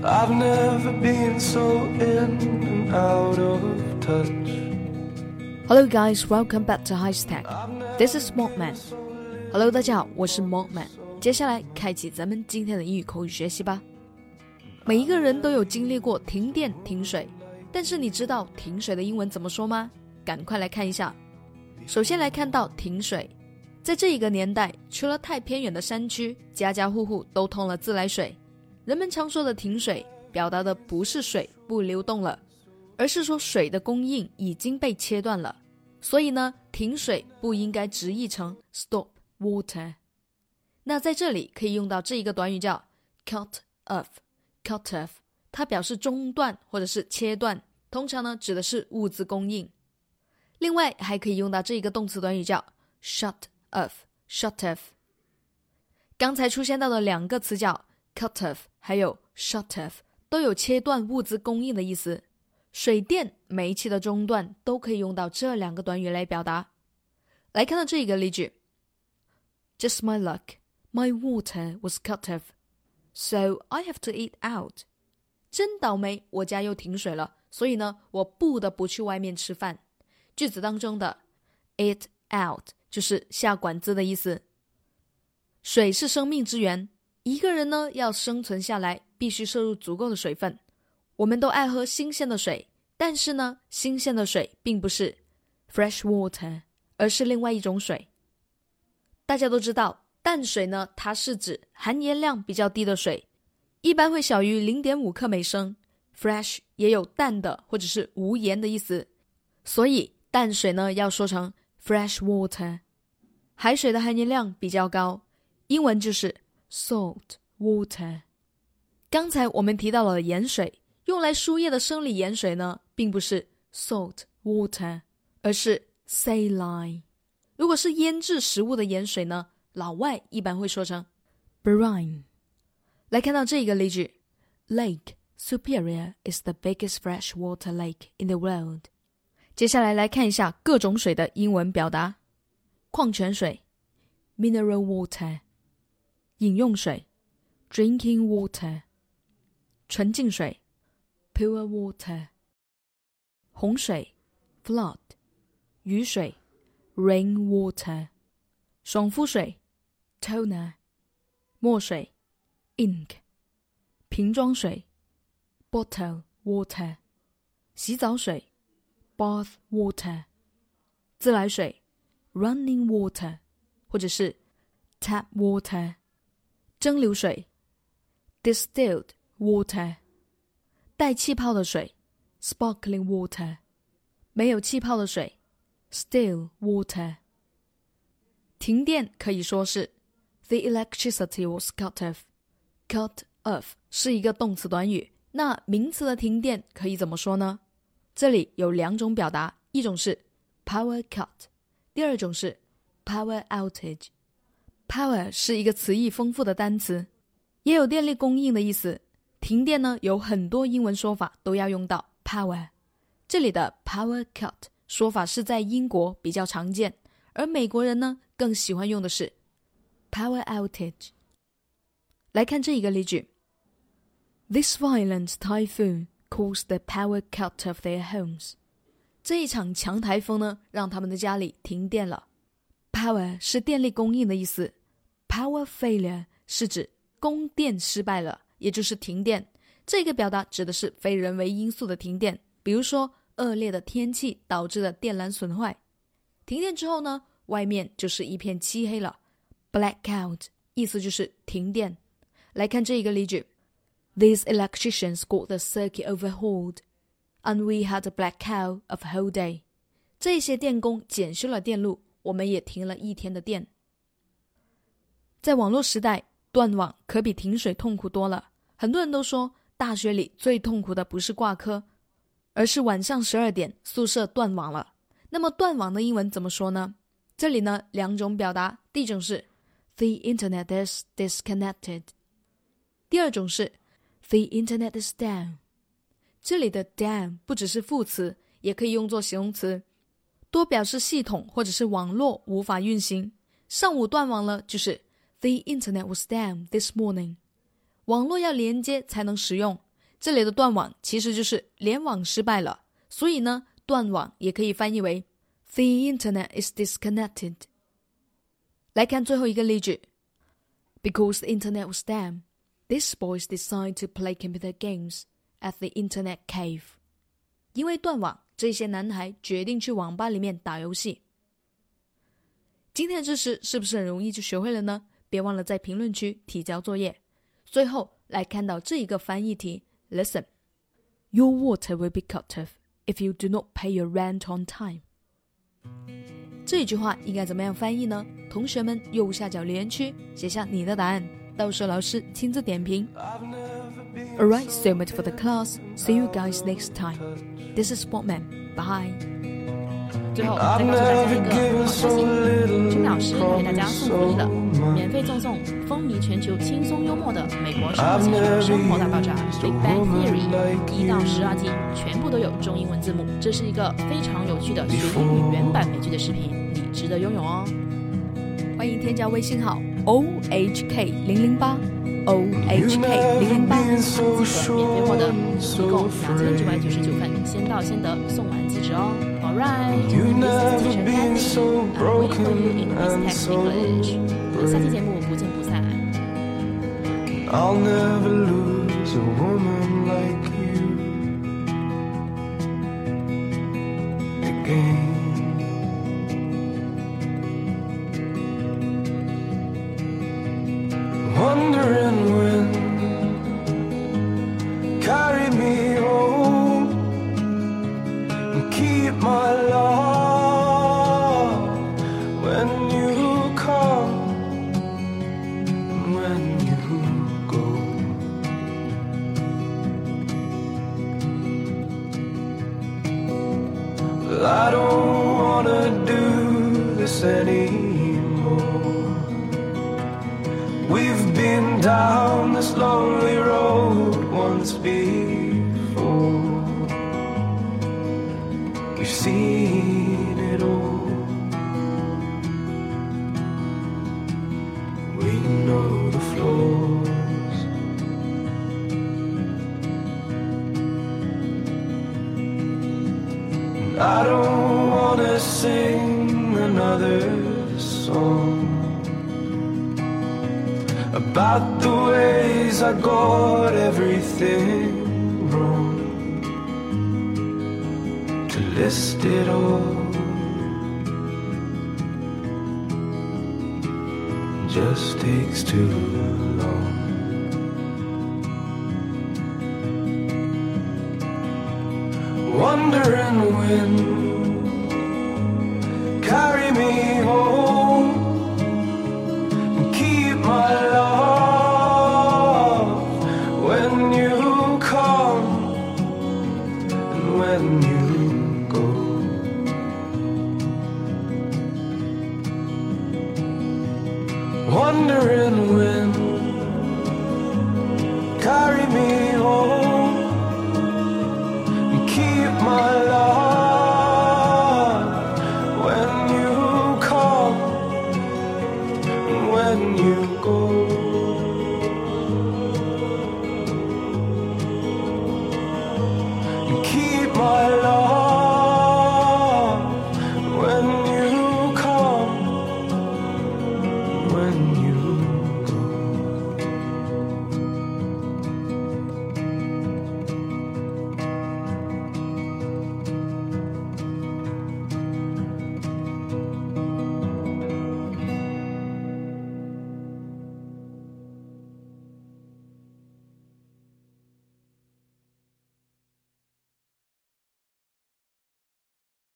I've never been so in and out of touch. Hello guys, welcome back to High-Tech. This is Mockman. Hello 大家好，我是 Mockman。接下来开启咱们今天的英语口语学习吧。每一个人都有经历过停电停水，但是你知道停水的英文怎么说吗？赶快来看一下。首先来看到停水，在这一个年代，除了太偏远的山区，家家户户都通了自来水。人们常说的停水，表达的不是水不流动了，而是说水的供应已经被切断了。所以呢，停水不应该直译成 stop water。 那在这里可以用到这一个短语叫 cut off。cut off 它表示中断或者是切断，通常呢指的是物资供应。另外还可以用到这一个动词短语叫 shut off。shut off 刚才出现到的两个词叫 cut off 还有 shut off 都有切断物资供应的意思。水电煤气的中断都可以用到这两个短语来表达。来看到这一个例句， Just my luck, my water was cut off, so I have to eat out. 真倒霉，我家又停水了，所以呢，我不得不去外面吃饭。句子当中的 eat out 就是下馆子的意思。水是生命之源，一个人呢要生存下来，必须摄入足够的水分。我们都爱喝新鲜的水，但是呢，新鲜的水并不是 fresh water， 而是另外一种水。大家都知道，淡水呢，它是指含盐量比较低的水，一般会小于 0.5 克每升。fresh 也有淡的或者是无盐的意思，所以淡水呢要说成 fresh water。 海水的含盐量比较高，英文就是 salt water。 刚才我们提到了盐水，用来输液的生理盐水呢，并不是 salt water， 而是 saline。 如果是腌制食物的盐水呢，老外一般会说成 brine。 来看到这个例句， Lake Superior is the biggest freshwater lake in the world。 接下来来看一下各种水的英文表达。矿泉水 mineral water， 饮用水 drinking water， 纯净水Pure water， 洪水 flood， 雨水 rain water， 爽肤水 toner， 墨水 ink， 瓶装水 bottle water， 洗澡水 bath water， 自来水 running water 或者是 tap water， 蒸馏水 distilled water，带气泡的水 sparkling water， 没有气泡的水 still water。 停电可以说是 The electricity was cut off。 Cut off 是一个动词短语，那名词的停电可以怎么说呢？这里有两种表达，一种是 power cut， 第二种是 power outage。 Power 是一个词义丰富的单词，也有电力供应的意思。停电呢，有很多英文说法都要用到 power。 这里的 power cut 说法是在英国比较常见，而美国人呢更喜欢用的是 power outage。 来看这一个例句， This violent typhoon caused the power cut of their homes。 这一场强台风呢，让他们的家里停电了。 Power 是电力供应的意思， Power failure 是指供电失败了，也就是停电。这个表达指的是非人为因素的停电，比如说恶劣的天气导致的电缆损坏。停电之后呢，外面就是一片漆黑了， blackout 意思就是停电。来看这一个例句， These electricians got the circuit overhauled and we had a blackout of a whole day。 这些电工检修了电路，我们也停了一天的电。在网络时代，断网可比停水痛苦多了。很多人都说大学里最痛苦的不是挂科，而是晚上12点宿舍断网了。那么断网的英文怎么说呢？这里呢两种表达，第一种是 The internet is disconnected， 第二种是 The internet is down。 这里的 down 不只是副词，也可以用作形容词，多表示系统或者是网络无法运行。上午断网了，就是The internet was down this morning。 网络要连接才能使用， 这里的断网其实就是联网失败了，所以呢，断网也可以翻译为 The internet is disconnected。 来看最后一个例句 Because the internet was down, these boys decided to play computer games at the internet cave。 因为断网，这些男孩决定去网吧里面打游戏。今天的知识是不是很容易就学会了呢？别忘了在评论区提交作业。最后来看到这一个翻译题 Listen, Your water will be cut off if you do not pay your rent on time。 这一句话应该怎么样翻译呢？同学们右下角留言区写下你的答案，到时候老师亲自点评。 Alright, so much for the class. See you guys next time. This is Sportman. Bye. 最后再告诉大家一个好消息，君老师会给大家送福利的，免费赠送风靡全球轻松幽默的美国生活小说《生活大爆炸》Big Bang Theory 1到12集，全部都有中英文字幕。这是一个非常有趣的学英语原版美剧的视频，你值得拥有哦。 欢迎添加微信号 OHK008 OHK008， 记得免费获得，一共2999份，先到先得，送完即止哦。Alright, this is teacher Kathy. I'm waiting for you in Miss Text English. 下期节目不见不散。 I'll never lose a woman like you again. Wondering when, carry me home and keep my love when you come and when you go. Well, I don't wanna do this anymore. We've been down this lonely road once before. We've seen it all. We know the flaws. And I don't wanna sing another song about the ways I got everything wrong. To list it all just takes too long. Wondering when, carry me home and keep my love when you come and when you